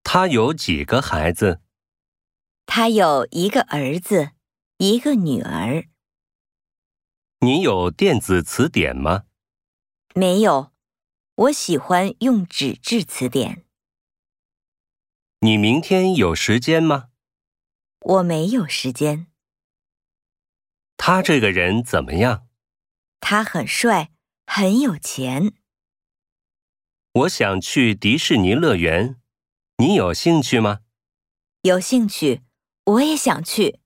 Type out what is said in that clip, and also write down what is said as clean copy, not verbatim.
他有几个孩子？ 他有一个儿子，一个女儿。 你有电子词典吗？ 没有，我喜欢用纸质词典。 你明天有时间吗？ 我没有时间。 他这个人怎么样？ 他很帅，很有钱。 我想去迪士尼乐园，你有兴趣吗？ 有兴趣，我也想去。